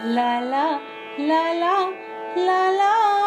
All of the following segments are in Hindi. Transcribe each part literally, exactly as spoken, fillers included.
ला ला ला ला ला ला।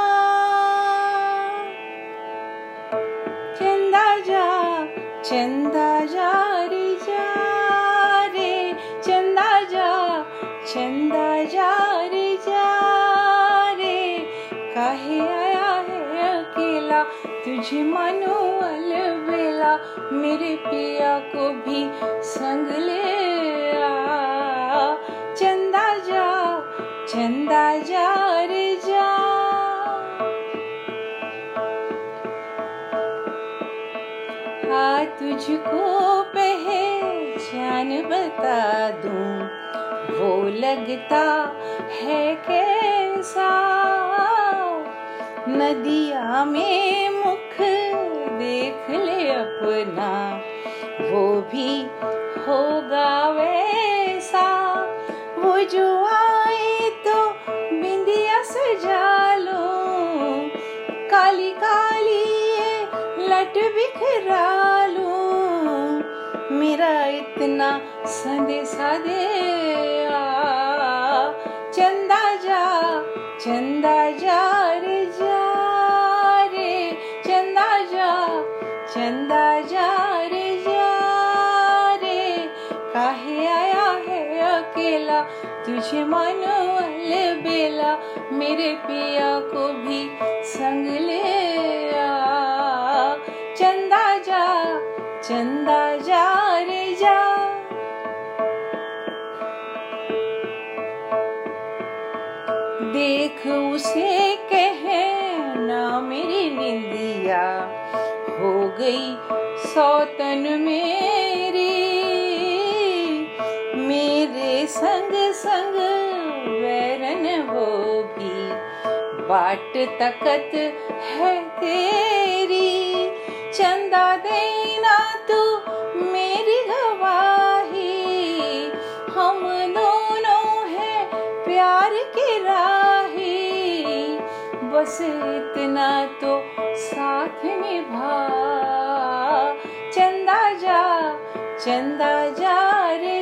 चंदा जा चंदा जा रे जा रे, चंदा जा चंदा जा रे जा रे। काहे आया है अकेला तुझे मानो अलबेला, मेरे पिया को भी संग ले आ। चंदा जा चंदा जा रे जा। आ तुझको पहचान बता दूं, वो लगता है कैसा। नदिया में मुख देख ले अपना, वो भी होगा वैसा। वो जो आए तो बिंदिया सजा लो, काली काली ये लट बिखरा लो। मेरा इतना संदेशा दे आ। चंदा जा चंदा जा रे जा रे, चंदा जा चंदा जा रे जा रे। काहे आया है अकेला तुझे मानो अलबेला, मेरे पिया को भी संग ले आ। चंदा जा चंदा जा रे जा। देख उसे कहना मेरी निंदिया हो गई सौतन मेरी। मेरे संग संग वैरन वो भी बाट तकत है तेरी। चंदा देना तू मेरी गवाही, हम दोनों हैं प्यार की राही। बस इतना तो साथ निभा। चंदा जा चंदा जा रे